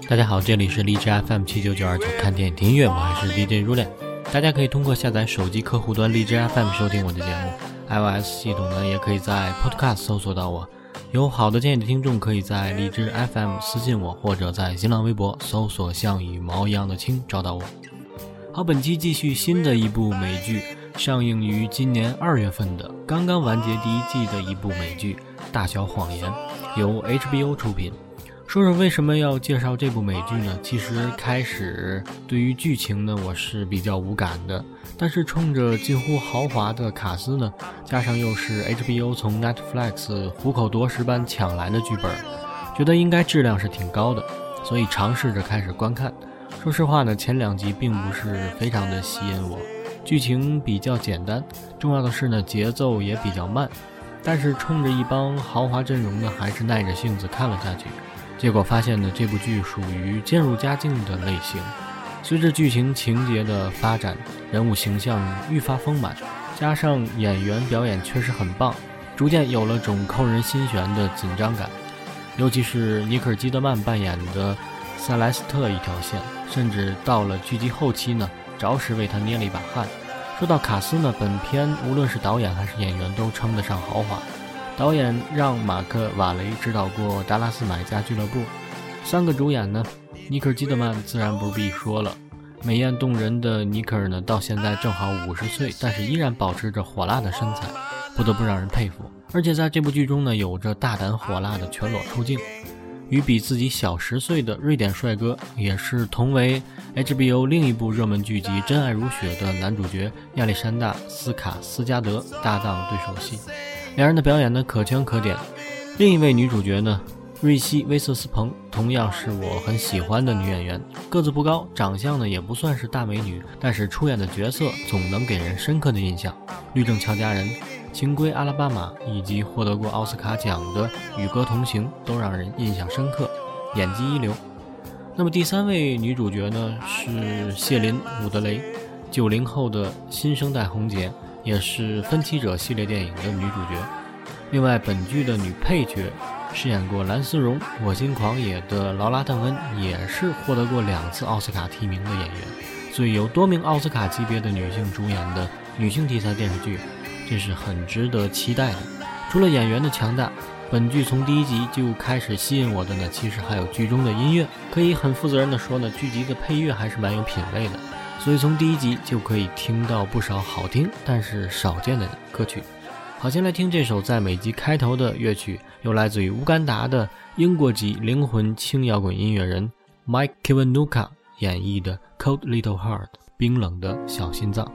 大家好，这里是荔枝 FM79929 看电影听音乐，我还是 DJ 如恋。大家可以通过下载手机客户端荔枝 FM 收听我的节目， iOS 系统呢也可以在 Podcast 搜索到我。有好的建议的听众可以在荔枝 FM 私信我，或者在新浪微博搜索像羽毛一样的青找到我。好，本期继续新的一部美剧，上映于今年2月份的刚刚完结第一季的一部美剧《大小谎言》，由 HBO 出品。说说为什么要介绍这部美剧呢？其实开始对于剧情呢我是比较无感的，但是冲着近乎豪华的卡斯呢，加上又是 HBO 从 Netflix 虎口夺食般抢来的剧本，觉得应该质量是挺高的，所以尝试着开始观看。说实话呢，前2集并不是非常的吸引我，剧情比较简单，重要的是呢节奏也比较慢，但是冲着一帮豪华阵容呢，还是耐着性子看了下去。结果发现呢，这部剧属于渐入佳境的类型。随着剧情情节的发展，人物形象愈发丰满，加上演员表演确实很棒，逐渐有了种扣人心弦的紧张感。尤其是尼可基德曼扮演的塞莱斯特一条线，甚至到了剧集后期呢，着实为他捏了一把汗。说到卡斯呢，本片无论是导演还是演员都称得上豪华。导演让马克·瓦雷执导过《达拉斯买家俱乐部》，3个主演呢，尼可基德曼自然不必说了。美艳动人的尼可呢，到现在正好50岁，但是依然保持着火辣的身材，不得不让人佩服。而且在这部剧中呢，有着大胆火辣的全裸出镜，与比自己小10岁的瑞典帅哥，也是同为 HBO 另一部热门剧集《真爱如雪》的男主角亚历山大·斯卡斯加德搭档对手戏。两人的表演呢可圈可点。另一位女主角呢，瑞希·威瑟斯彭，同样是我很喜欢的女演员，个子不高，长相呢也不算是大美女，但是出演的角色总能给人深刻的印象。律政俏佳人、情归阿拉巴马以及获得过奥斯卡奖的与歌同行都让人印象深刻，演技一流。那么第3位女主角呢是谢琳·伍德雷，90后的新生代红姐，也是分歧者系列电影的女主角。另外本剧的女配角饰演过蓝丝绒、我心狂野的劳拉·邓恩，也是获得过2次奥斯卡提名的演员。所以由多名奥斯卡级别的女性主演的女性题材电视剧，这是很值得期待的。除了演员的强大，本剧从第1集就开始吸引我的呢，其实还有剧中的音乐。可以很负责任的说呢，剧集的配乐还是蛮有品味的，所以从第1集就可以听到不少好听但是少见的歌曲。好，先来听这首在每集开头的乐曲，由来自于乌干达的英国籍灵魂轻摇滚音乐人 Mike Kiwanuka 演绎的 Cold Little Heart 冰冷的小心脏。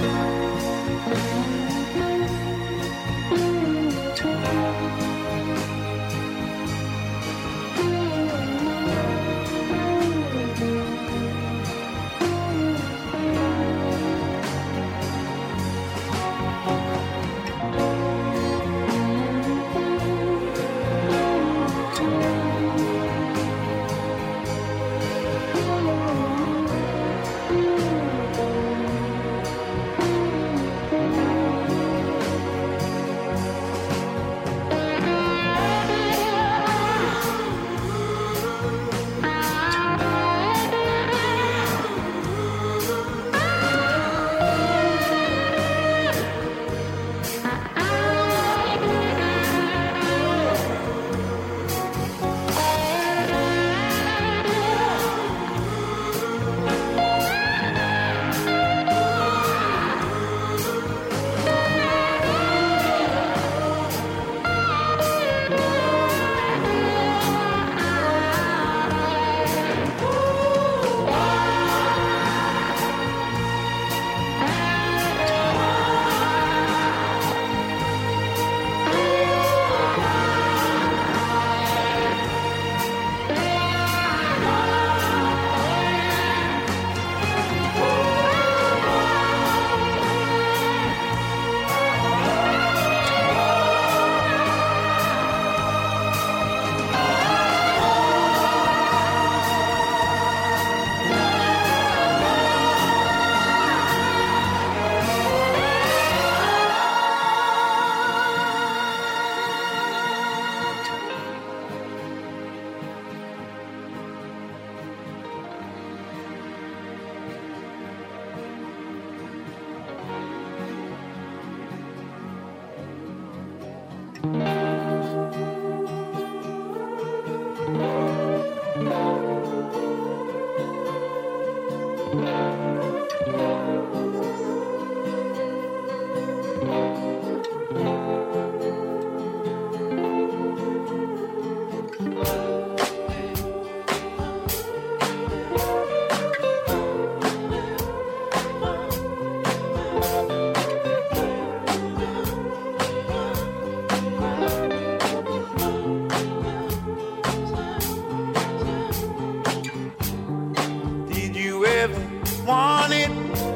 Want it?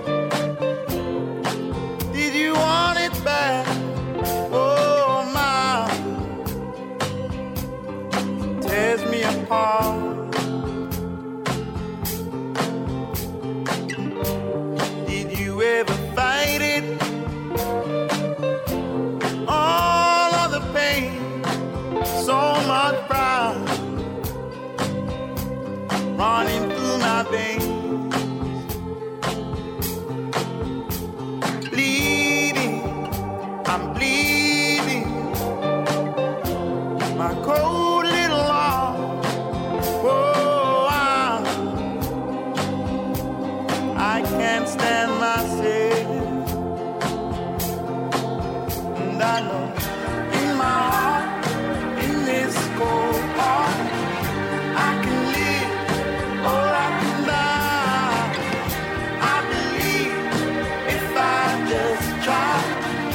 Did you want it back? Oh my, it tears me apart. Did you ever fight it? All of the pain, so much pride running through my veins. I'm bleeding, my cold little heart. Oh, I can't stand myself, and I know in my heart, in this cold heart, I can live or I can die. I believe if I just try.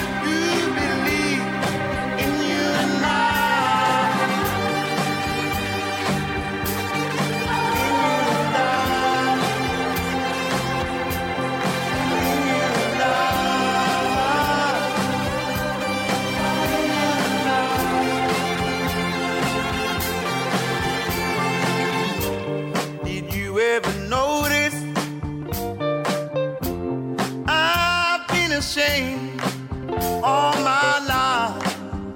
Ashamed all my life.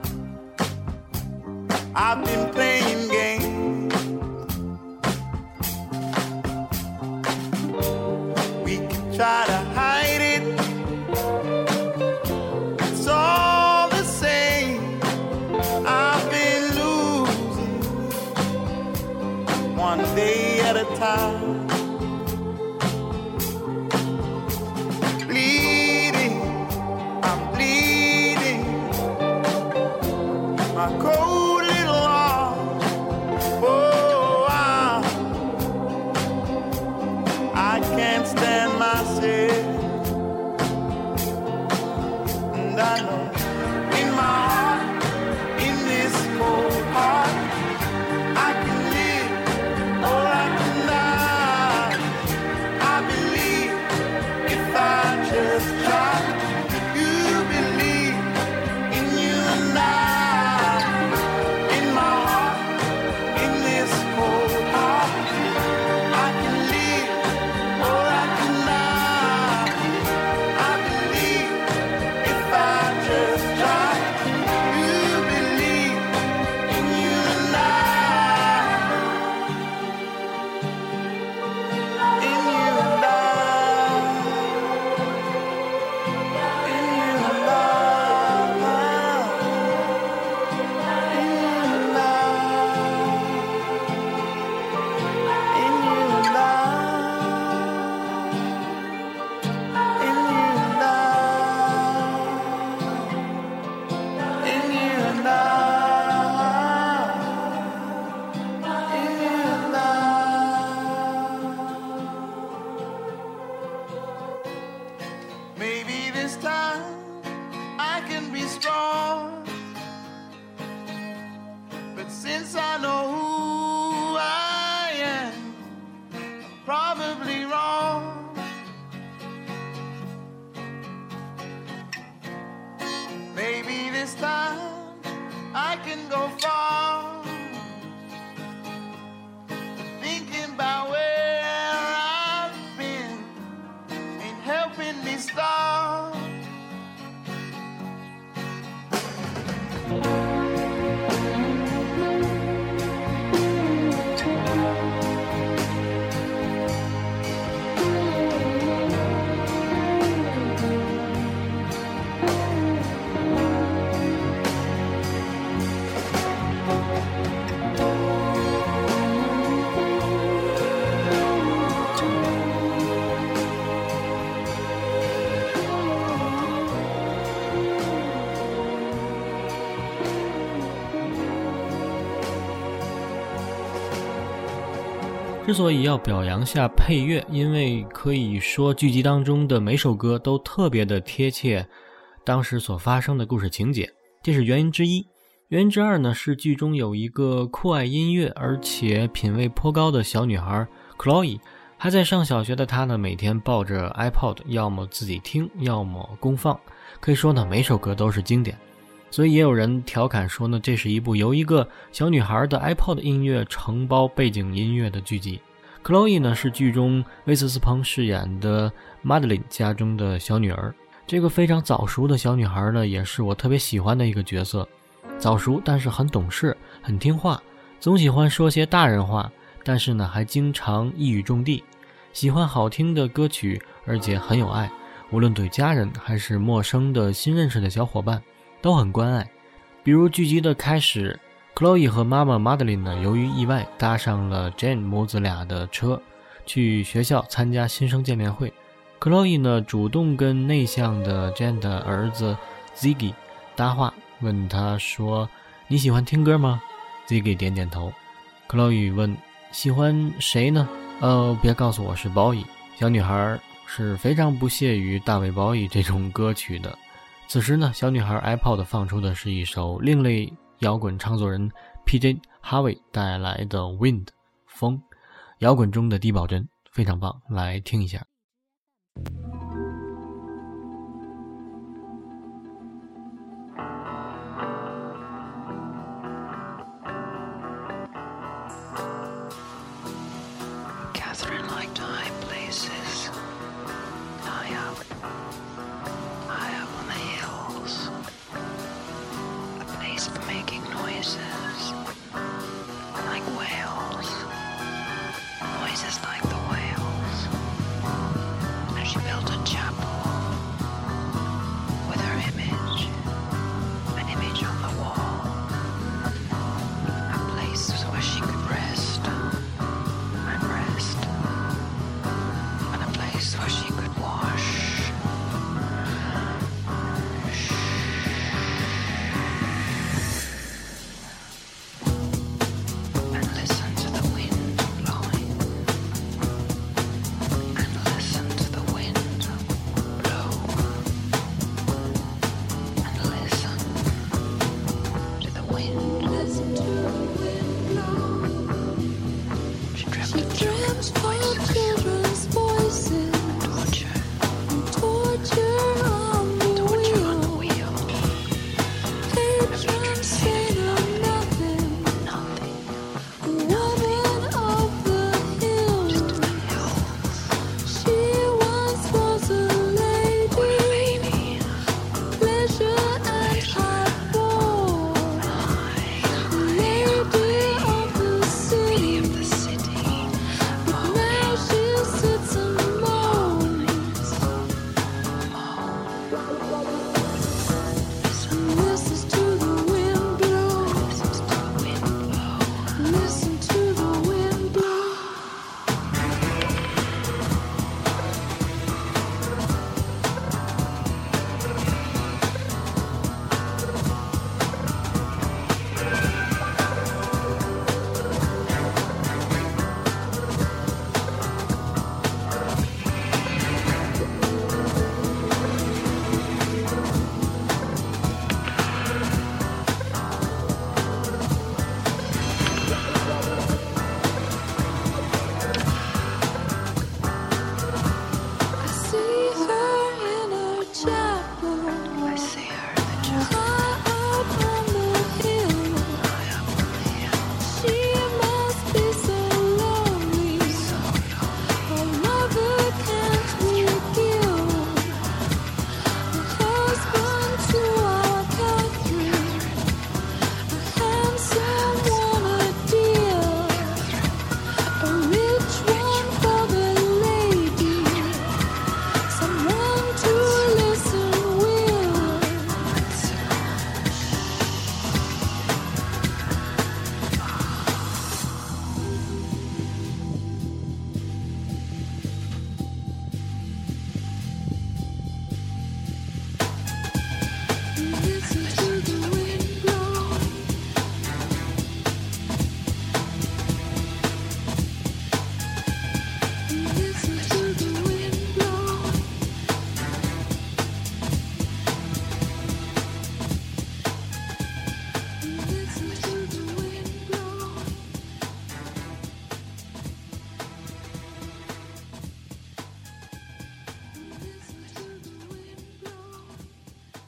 I've been playing games. We can try to hide it. It's all the same. I've been losing one day at a time. My cold little heart. Oh, I can't stand myself. Maybe this time I can be strong, but since I know who I am, I'm probably wrong. Maybe this time I can go far, thinking about where I've been ain't helping me start. 之所以要表扬下配乐，因为可以说剧集当中的每首歌都特别的贴切当时所发生的故事情节，这是原因之一。原因之二呢，是剧中有一个酷爱音乐而且品味颇高的小女孩 Chloe， 还在上小学的她呢，每天抱着 iPod， 要么自己听，要么公放，可以说呢，每首歌都是经典。所以也有人调侃说呢，这是一部由一个小女孩的 iPod 音乐承包背景音乐的剧集。Chloe 呢是剧中威斯斯彭饰演的 Madeline 家中的小女儿。这个非常早熟的小女孩呢，也是我特别喜欢的一个角色。早熟但是很懂事，很听话，总喜欢说些大人话，但是呢还经常一语中的，喜欢好听的歌曲，而且很有爱，无论对家人还是陌生的新认识的小伙伴都很关爱。比如剧集的开始， Chloe 和妈妈 Madeline 呢，由于意外搭上了 Jane 母子俩的车，去学校参加新生见面会。 Chloe 呢主动跟内向的 Jane 的儿子 Ziggy 搭话，问他说，你喜欢听歌吗？ Ziggy 点点头。 Chloe 问，喜欢谁呢？别告诉我是 Bowie。 小女孩是非常不屑于大卫 Bowie 这种歌曲的。此时呢，小女孩 iPod 放出的是一首另类摇滚唱作人 PJ Harvey 带来的 Wind 风，摇滚中的低保真，非常棒，来听一下。 Catherine liked high places, high up on the hills, a place for making noises, like whales, noises like the whales. And she built a chapel with her image, an image on the wall, a place where she could rest and rest, and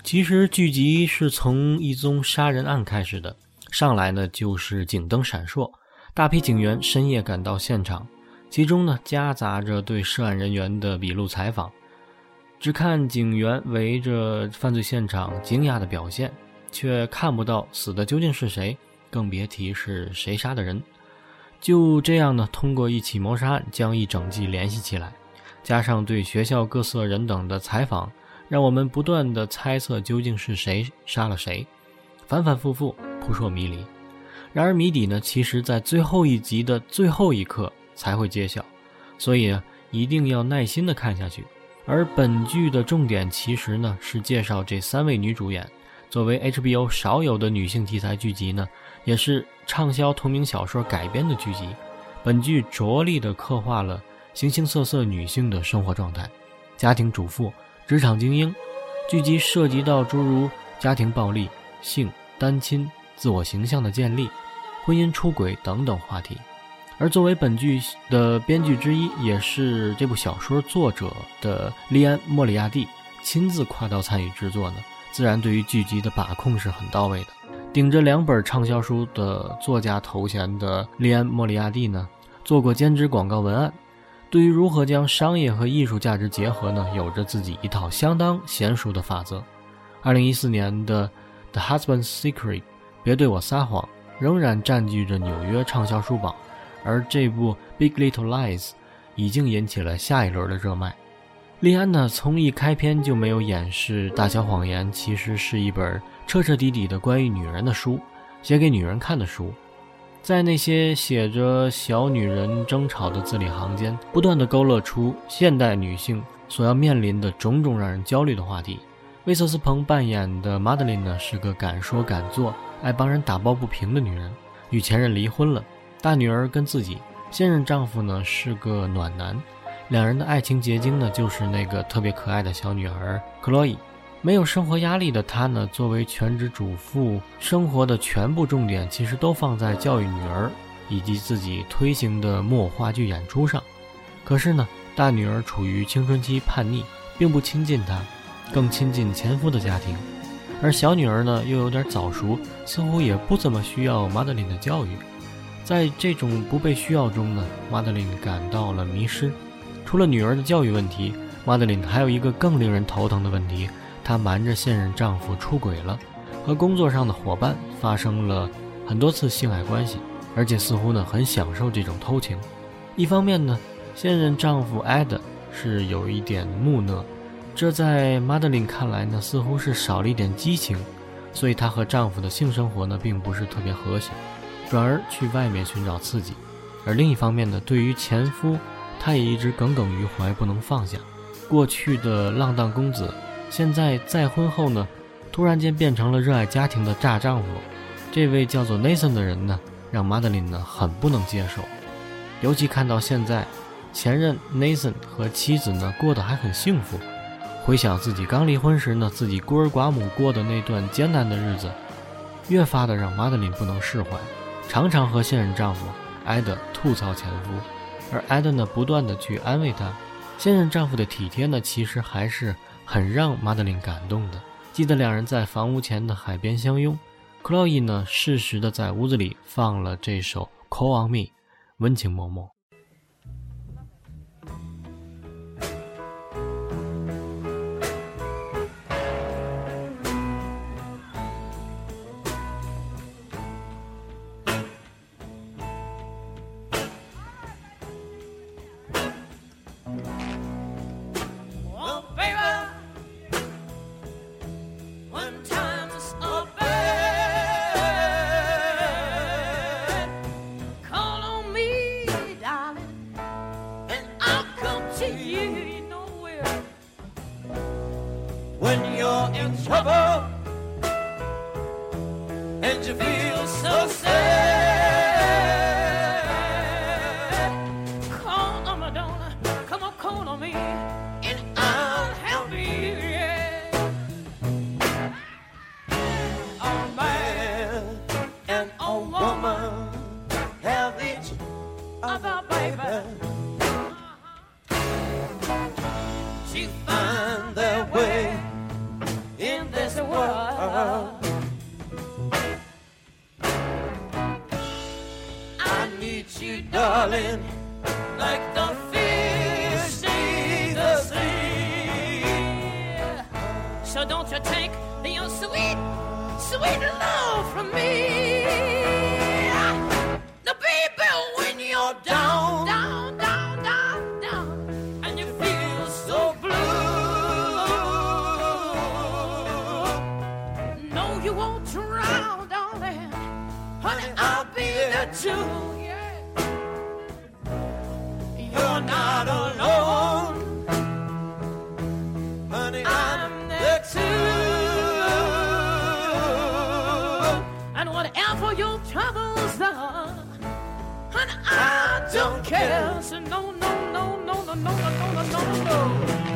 其实剧集是从一宗杀人案开始的，上来呢就是警灯闪烁，大批警员深夜赶到现场，其中呢夹杂着对涉案人员的笔录采访。只看警员围着犯罪现场惊讶的表现，却看不到死的究竟是谁，更别提是谁杀的人。就这样呢，通过一起谋杀案将一整季联系起来，加上对学校各色人等的采访，让我们不断的猜测究竟是谁杀了谁，反反复复，扑朔迷离。然而谜底呢，其实在最后一集的最后一刻才会揭晓，所以一定要耐心的看下去。而本剧的重点其实呢是介绍这3位女主演，作为 HBO 少有的女性题材剧集呢，也是畅销同名小说改编的剧集。本剧着力地刻画了形形色色女性的生活状态，家庭主妇、职场精英。剧集涉及到诸如家庭暴力、性、单亲、自我形象的建立、婚姻出轨等等话题。而作为本剧的编剧之一，也是这部小说作者的利安·莫里亚蒂亲自跨刀参与制作呢，自然对于剧集的把控是很到位的。顶着2本畅销书的作家头衔的利安·莫里亚蒂呢，做过兼职广告文案，对于如何将商业和艺术价值结合呢，有着自己一套相当娴熟的法则。2014年的 The Husband's Secret 别对我撒谎仍然占据着纽约畅销书榜，而这部 Big Little Lies 已经引起了下一轮的热卖。利安呢，从一开篇就没有掩饰《大小谎言》其实是一本彻彻底底的关于女人的书，写给女人看的书。在那些写着小女人争吵的字里行间，不断地勾勒出现代女性所要面临的种种让人焦虑的话题。威瑟斯彭扮演的 Madeline 呢，是个敢说敢做、爱帮人打抱不平的女人，与前任离婚了，大女儿跟自己，现任丈夫呢是个暖男，两人的爱情结晶呢就是那个特别可爱的小女孩 Chloe。 没有生活压力的她呢，作为全职主妇，生活的全部重点其实都放在教育女儿以及自己推行的木偶话剧演出上。可是呢，大女儿处于青春期叛逆，并不亲近她，更亲近前夫的家庭，而小女儿呢又有点早熟，似乎也不怎么需要 Madeline 的教育。在这种不被需要中呢， Madeline 感到了迷失。除了女儿的教育问题， Madeline 还有一个更令人头疼的问题，她瞒着现任丈夫出轨了，和工作上的伙伴发生了很多次性爱关系，而且似乎呢很享受这种偷情。一方面呢，现任丈夫 Ed 是有一点木讷，这在 Madeline 看来呢似乎是少了一点激情，所以她和丈夫的性生活呢并不是特别和谐，转而去外面寻找刺激。而另一方面呢，对于前夫，她也一直耿耿于怀，不能放下。过去的浪荡公子，现在再婚后呢，突然间变成了热爱家庭的大丈夫。这位叫做 Nathan 的人呢，让 Madeline 呢很不能接受。尤其看到现在前任 Nathan 和妻子呢过得还很幸福，回想自己刚离婚时呢，自己孤儿寡母过的那段艰难的日子，越发的让 Madeline 不能释怀，常常和现任丈夫 Ed 吐槽前夫，而 Ed 呢不断的去安慰她。现任丈夫的体贴呢，其实还是很让 Madeline 感动的。记得两人在房屋前的海边相拥， Chloe 呢适时的在屋子里放了这首 Call on Me， 温情脉脉。 When you're in trouble and you feel so sad, call on Madonna, come on, call on me, and I'll help you, yeah. A man and a woman have each other, baby. To find their way in this I need you, darling, like the fish need the sea. So don't you take your sweet, sweet love from me. Now, baby, when you're down, down, down, down, down, and you feel so blue, no, you won't drown, darling. Honey, I'll be there too. Yeah. You're not alone, honey, I'm there too. And whatever your troubles are, honey, I don't care. So no, no, no, no, no, no, no, no, no, no.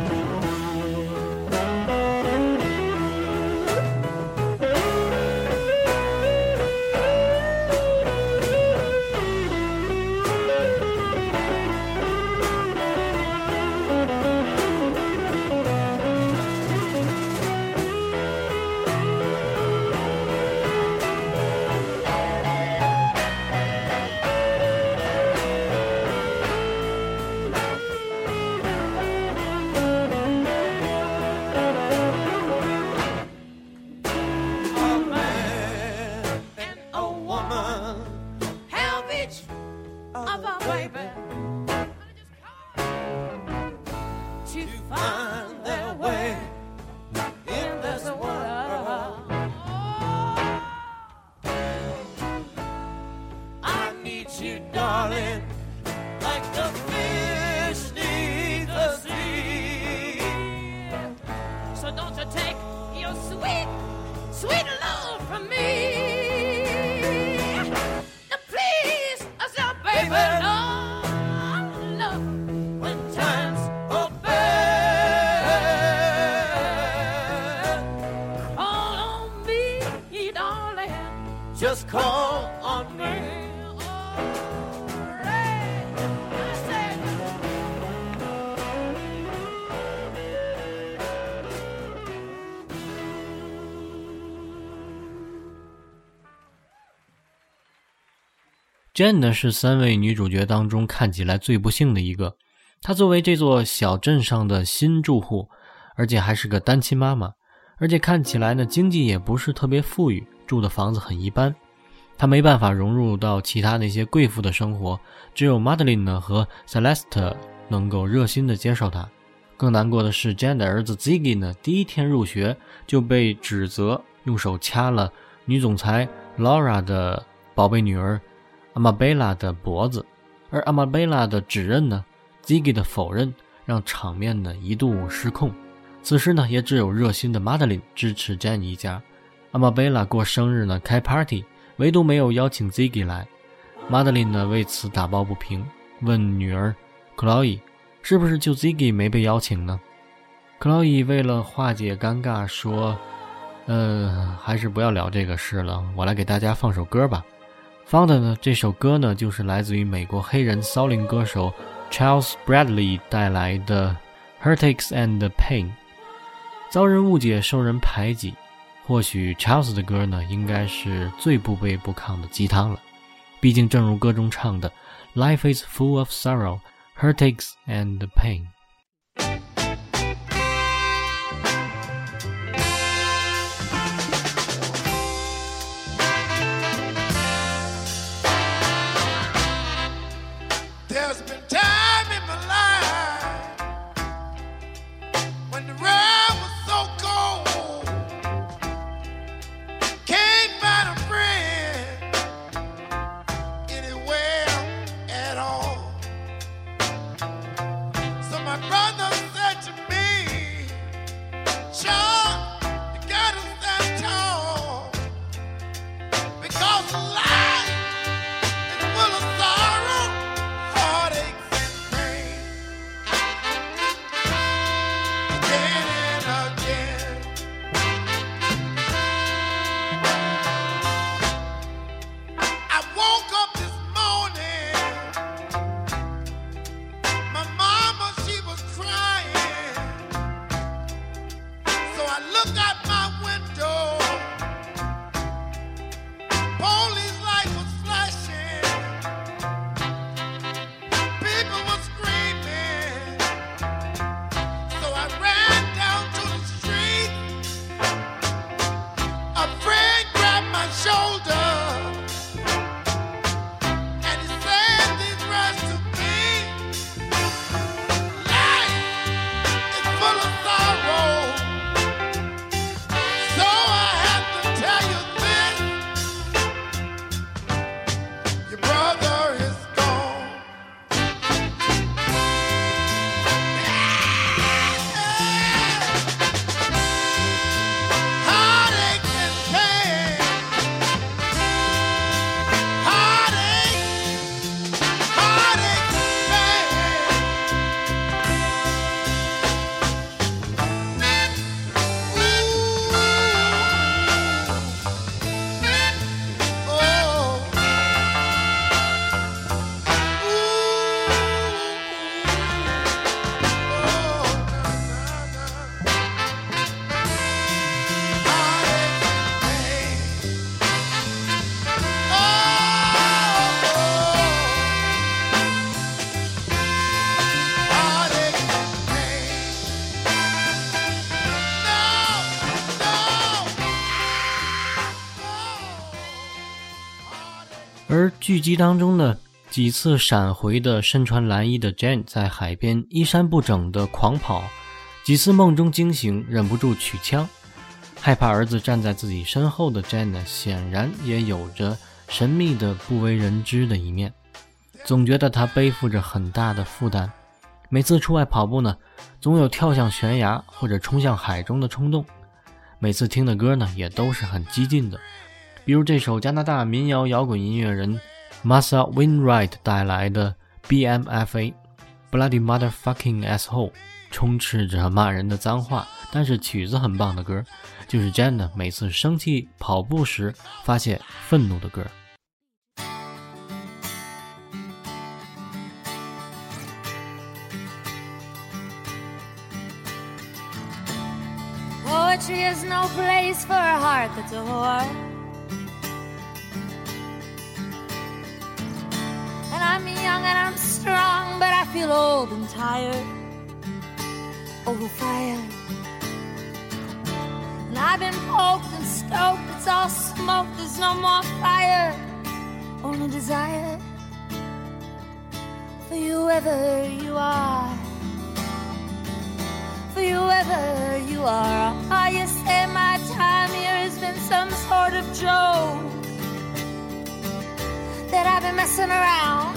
To find their way in this world. I need you, darling, like the fish need the sea. So don't you take your sweet, sweet love from me. Now please, I said, baby, love, love, when times are bad, call on me, darling. Just call on me. Jane 呢是3位女主角当中看起来最不幸的一个，她作为这座小镇上的新住户，而且还是个单亲妈妈，而且看起来呢经济也不是特别富裕，住的房子很一般，她没办法融入到其他那些贵妇的生活，只有 Madeline 呢和 Celeste 能够热心的接受她。更难过的是 Jane 的儿子 Ziggy 呢第一天入学就被指责用手掐了女总裁 Laura 的宝贝女儿Amabella 的脖子，而 Amabella 的指认呢 Ziggy 的否认让场面呢一度失控。此时呢也只有热心的 Madeline 支持 Jane 一家。 Amabella 过生日呢开 party， 唯独没有邀请 Ziggy 来。 Madeline 呢为此打抱不平，问女儿 Chloe 是不是就 Ziggy 没被邀请呢？ Chloe 为了化解尴尬说还是不要聊这个事了，我来给大家放首歌吧。放的呢这首歌呢就是来自于美国黑人骚灵歌手 Charles Bradley 带来的 Heartaches and Pain。 遭人误解，受人排挤，或许 Charles 的歌呢应该是最不卑不亢的鸡汤了，毕竟正如歌中唱的 Life is full of sorrow, heartaches and pain。 There's been time in my life when the road was so cold, can't find a friend anywhere at all. So my 而剧集当中呢，几次闪回的身穿蓝衣的 Jane 在海边衣衫不整的狂跑，几次梦中惊醒忍不住取枪，害怕儿子站在自己身后的 Jane 呢，显然也有着神秘的不为人知的一面，总觉得他背负着很大的负担，每次出外跑步呢，总有跳向悬崖或者冲向海中的冲动，每次听的歌呢也都是很激进的，比如这首加拿大民谣摇滚音乐人 Marsha Wainwright 带来的 BMFA Bloody Motherfucking Asshole， 充斥着骂人的脏话，但是曲子很棒的歌，就是 Jane 呢每次生气跑步时发泄愤怒的歌。 Poetry is no place for a heart that's a whore. And I'm young and I'm strong, but I feel old and tired, overfired. And I've been poked and stoked, it's all smoke, there's no more fire, only desire for you whoever you are. For you whoever you are. Oh, you say my time here has been some sort of joke, that I've been messing around,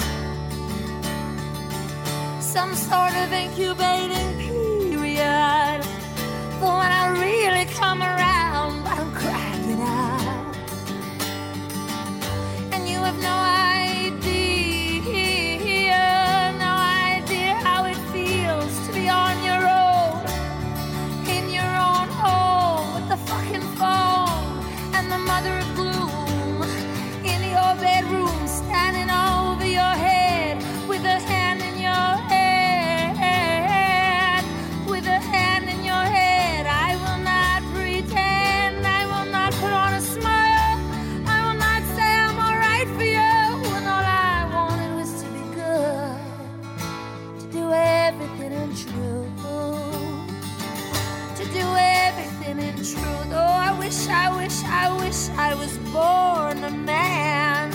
some sort of incubating period, but when I really come around, I'm cracking out. And you have no idea how it feels to be on your own, in your own home, with the fucking phone and the mother of gloom in your bedroom, standing over your head with a hand in your head, with a hand in your head. I will not pretend, I will not put on a smile, I will not say I'm alright for you, when all I wanted was to be good, to do everything in truth, to do everything in truth. Oh, I wish I was born a man,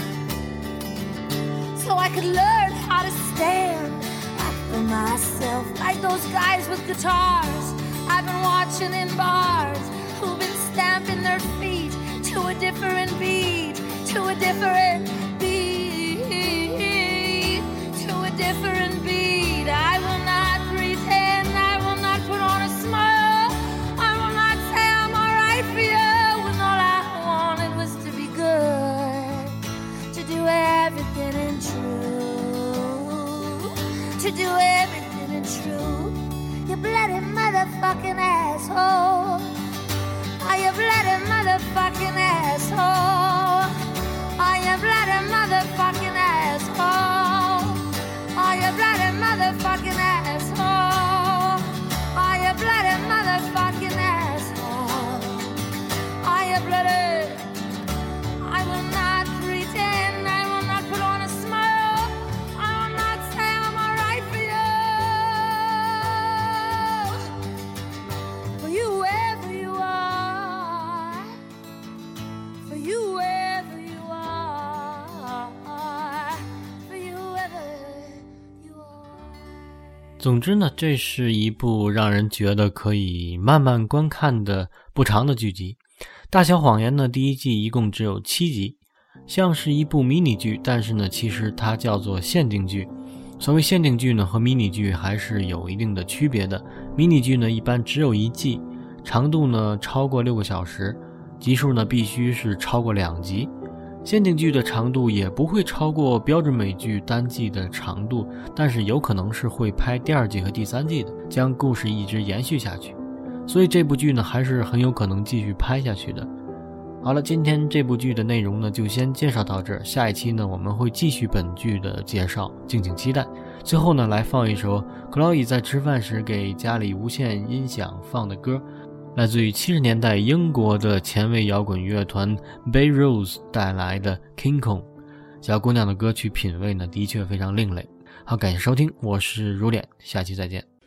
so I could learn how to stand up for myself, like those guys with guitars I've been watching in bars, who've been stamping their feet to a different beat, to a different beat, to a different beat. I will not pretend, I will not put on a smile, I will not say I'm alright for you, when all I wanted was to be good, to do everything in truth, to do everything in truth. You bloody motherfucking asshole, oh, you bloody motherfucking asshole, oh, you bloody motherfucking asshole, oh, you bloody motherfucking asshole, oh, you bloody motherfucking asshole, oh, you bloody. I will not pretend, I will not put on a smile, I will not say I'm alright for you, for you wherever you are, for you wherever you are, for you wherever you are. 总之呢，这是一部让人觉得可以慢慢观看的不长的剧集。大小谎言呢，第一季一共只有7集，像是一部迷你剧，但是呢，其实它叫做限定剧。所谓限定剧呢，和迷你剧还是有一定的区别的。迷你剧呢，一般只有1季，长度呢超过6个小时，集数呢必须是超过2集。限定剧的长度也不会超过标准美剧单季的长度，但是有可能是会拍第2季和第3季的，将故事一直延续下去。所以这部剧呢还是很有可能继续拍下去的。好了，今天这部剧的内容呢就先介绍到这儿，下一期呢我们会继续本剧的介绍，敬请期待。最后呢来放一首 Chloe 在吃饭时给家里无线音响放的歌，来自于70年代英国的前卫摇滚乐团 Bay Rose 带来的 King Kong。 小姑娘的歌曲品味呢的确非常另类。好，感谢收听，我是如脸，下期再见。